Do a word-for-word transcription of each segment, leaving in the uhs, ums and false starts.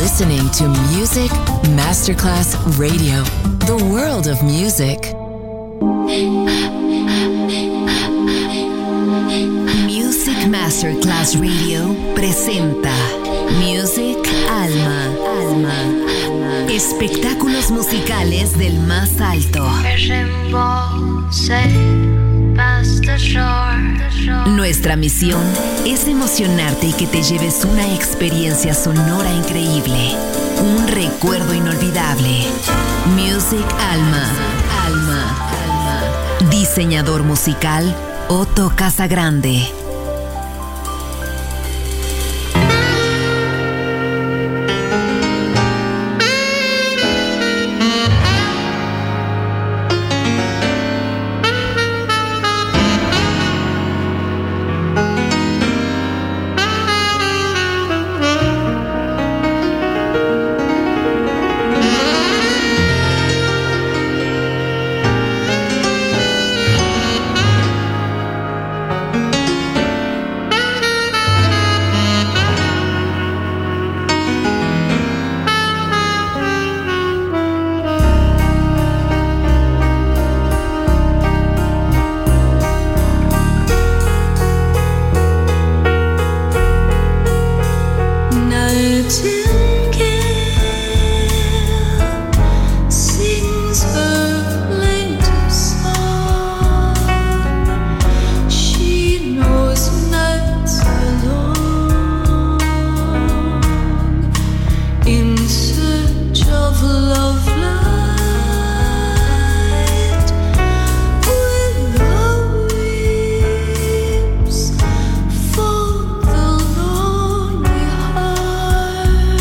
listening to Music Masterclass Radio, the world of music. Music Masterclass Radio presenta Music Alma. Alma. Espectáculos musicales del más alto. Nuestra misión es emocionarte y que te lleves una experiencia sonora increíble, un recuerdo inolvidable. Music Alma. Alma. Alma. Diseñador musical Otto Casagrande. Heart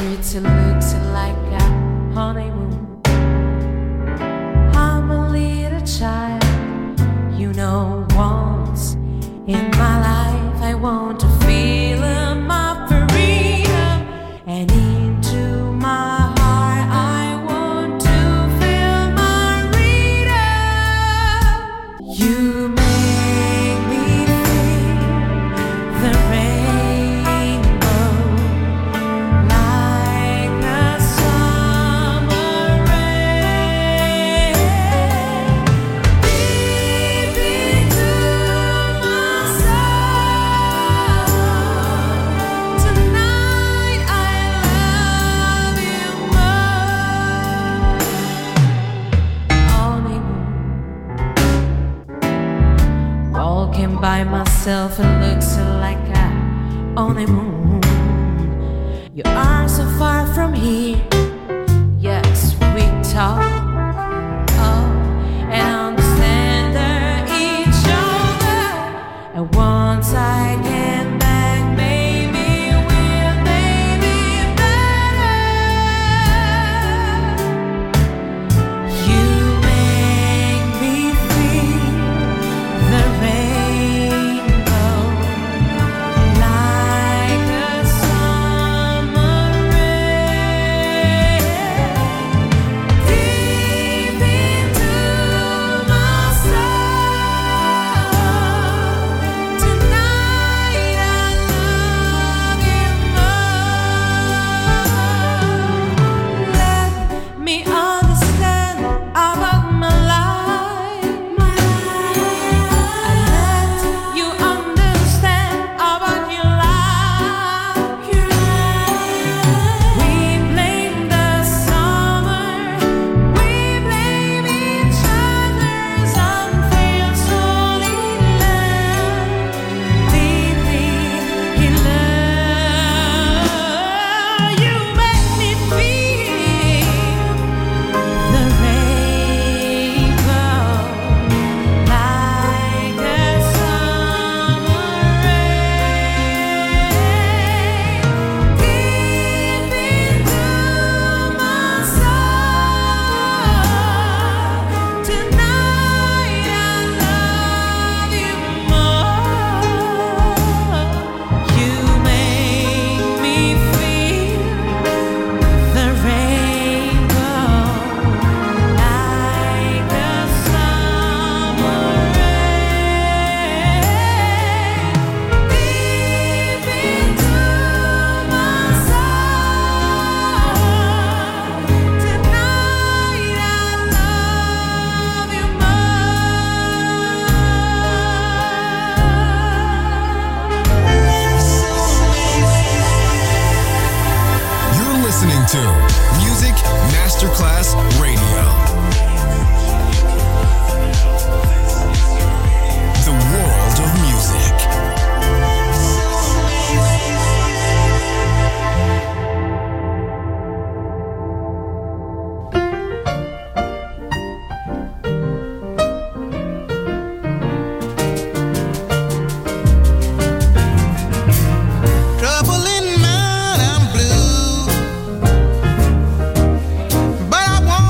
streets it looks like a honeymoon. I'm a little child, you know, once in my life I want to feel my freedom, and into my heart I want to feel my freedom. You make me feel the rainbow like a summer rain, deep into my soul. Tonight I love you more. Only walking by myself, it looks like a only moon. You are so far from here. Yes, we talk, oh, and understand each other. And once I get back, maybe we'll maybe better. You make me feel the rainbow like a summer rain, deep into my soul. Tonight I love you more. Let me understand about my life. I let you understand about your life. We blame the summer, we blame each other's unfair soul in love, deeply in love. You make me feel the rainbow like a summer rain, deep into my soul. Tonight I love you more. You make me feel the rainbow like a summer rain, deep into my soul. Tonight I love you You're listening to Music Masterclass Radio. The world of music. Trouble in mind, I'm blue, but I won't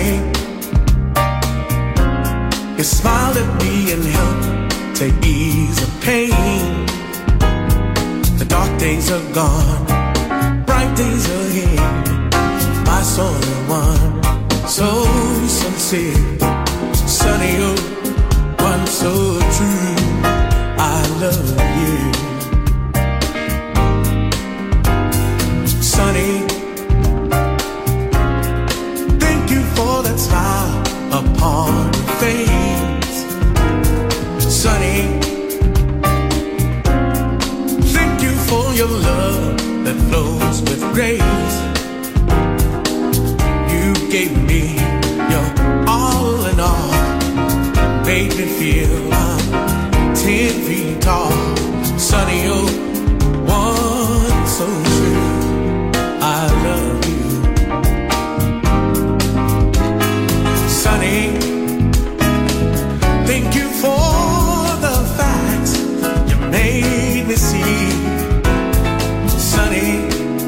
Sunny, you smiled at me and helped to ease the pain. The dark days are gone, bright days are here. My soul one, so sincere. Sunny, oh, one so true. I love you. Sunny, thank you for that smile upon your face. Sunny, thank you for your love that flows with grace. You gave me your all in all, made me feel I'm ten feet tall. Sunny, oh, one so true. I love you. Sunny, thank you for the facts you made me see. Sunny,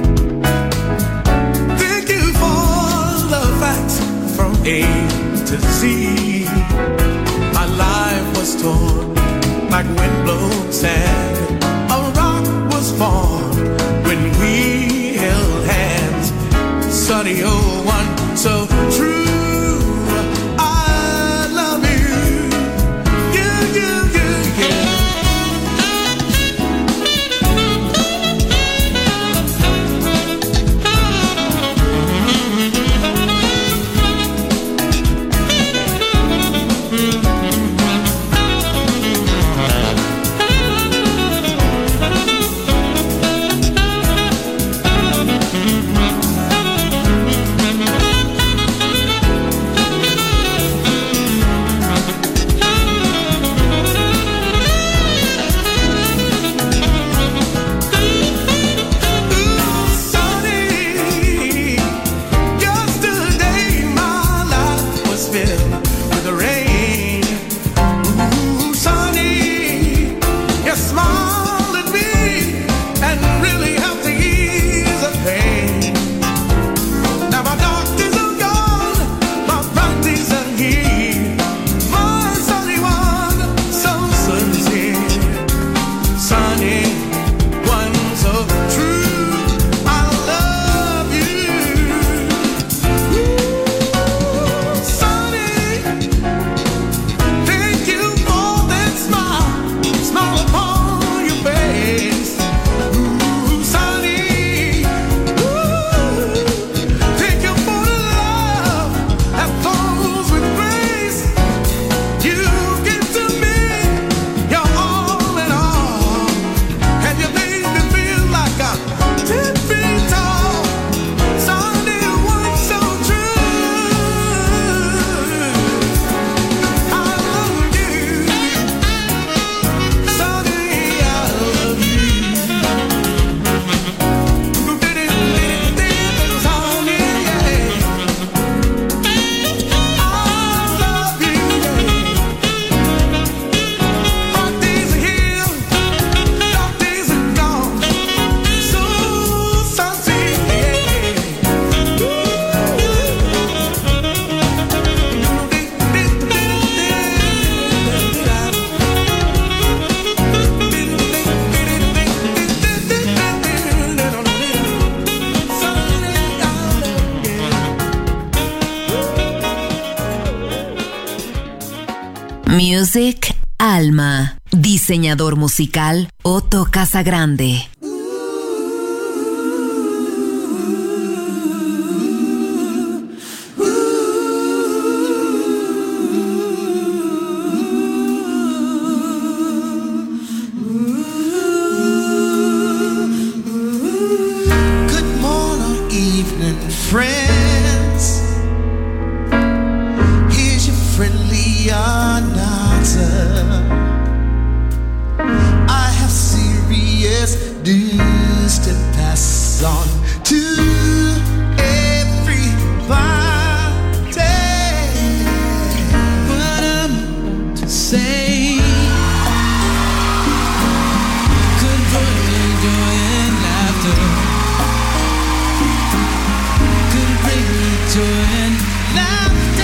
thank you for the facts from A to Z. My life was torn like windblown sand. A rock was formed when we held hands. Sunny, oh, one so true. I love you. You, you, you, you. Music Alma. Diseñador musical Otto Casagrande. Good morning, evening, friends. Here's your friendly announcer. I have serious news to pass on to everybody. What I'm to say could bring me joy and laughter. Could bring me joy and laughter.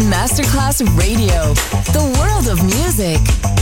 Masterclass Radio, the world of music.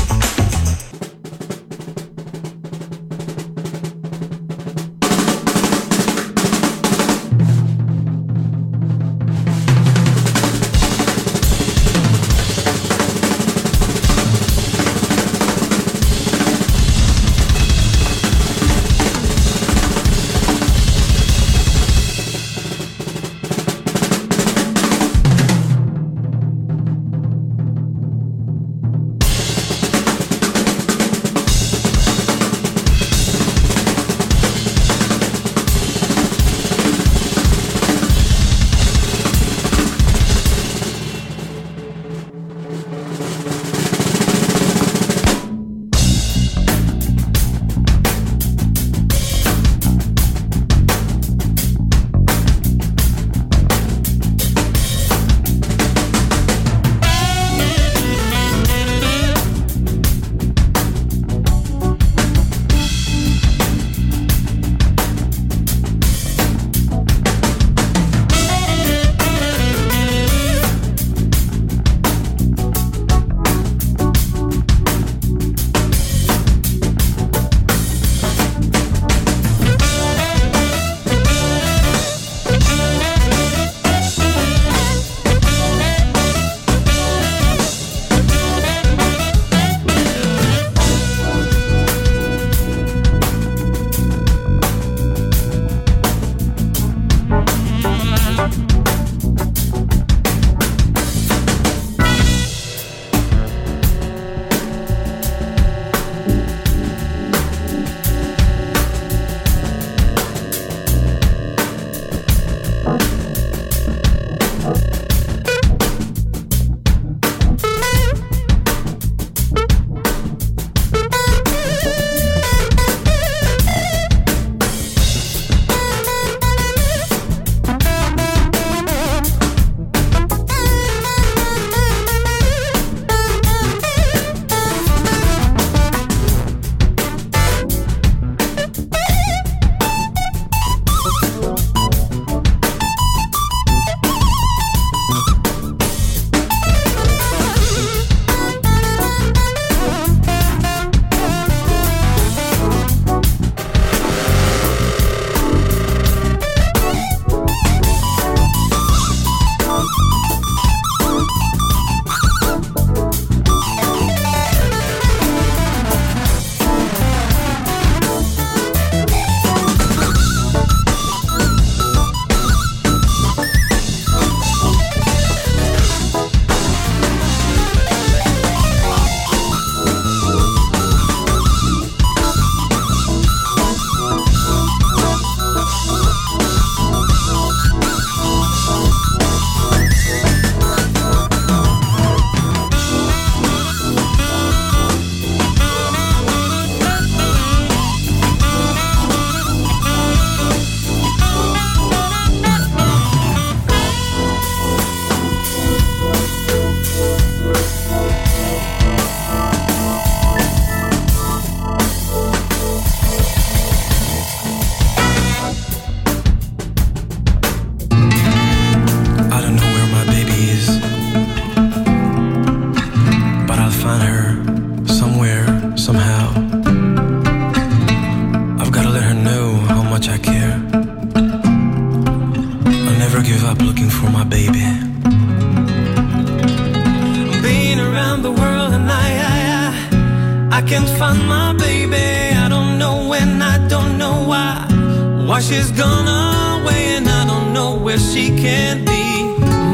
can't find my baby. I don't know when, I don't know why. Why she's gone away and I don't know where she can be.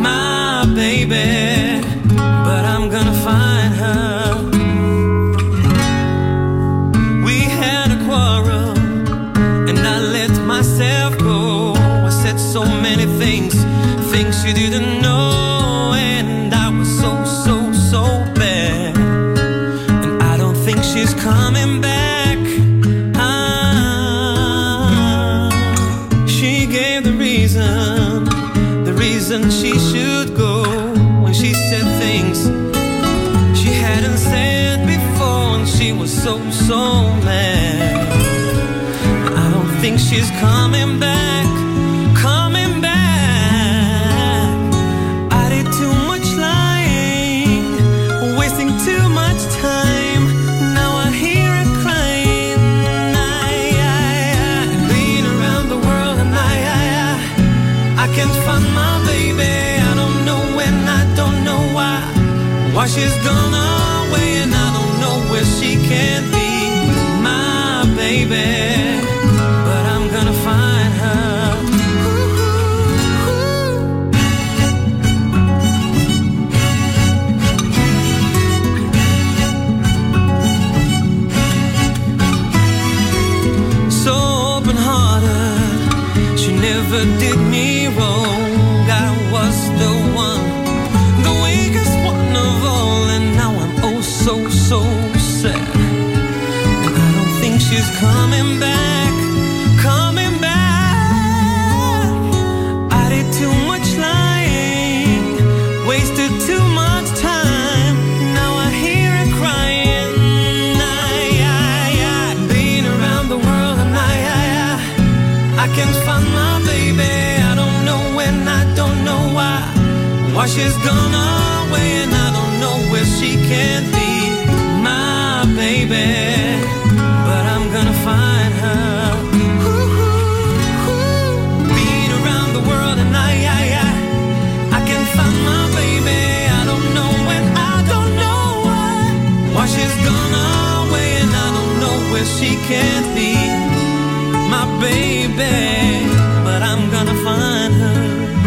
My baby, but I'm gonna find her. We had a quarrel and I let myself go. I said so many things, things you didn't know, and I was so, so, so bad. And I don't think she's coming back. Ah, she gave the reason, the reason she should go, when she said things she hadn't said before, and she was so, so mad. I don't think she's coming back, coming back. I did too much lying. Why she's gone away and I don't know where she can be, my baby, but I'm gonna find her. So open-hearted, she never did me wrong. I was the one, the weakest one of all, and now I'm oh so, so sad. And I don't think she's coming back, coming back. I did too much lying, wasted too much time. Now I hear her crying. I, I, I, been around the world and I, I, I, I can't find my baby. I don't know when, I don't know why. Why she's gone away and I don't know where she can be, my baby, but I'm gonna find her. Been around the world and I, I, I, I can't find my baby. I don't know when, I don't know why. Why she's gone away and I don't know where she can be, my baby, but I'm gonna find her.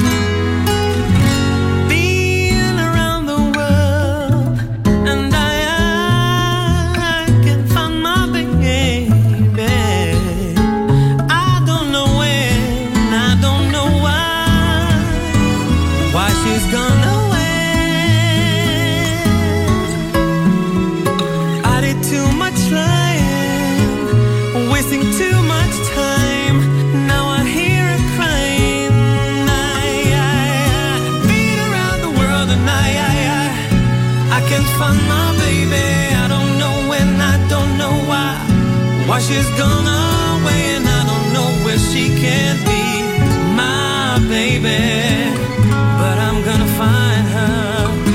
Find my baby, I don't know when, I don't know why. Why she's gone away and I don't know where she can be, my baby, but I'm gonna find her.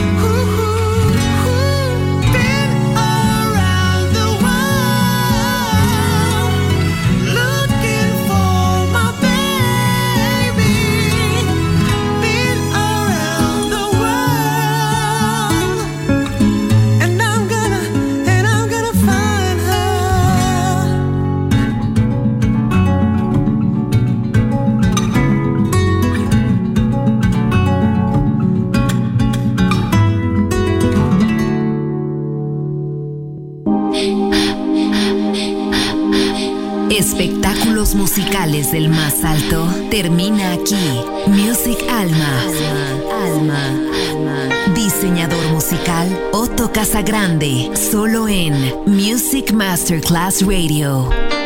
Espectáculos musicales del más alto termina aquí. Music Alma. Alma. Alma. Diseñador musical Otto Casagrande. Solo en Music Masterclass Radio.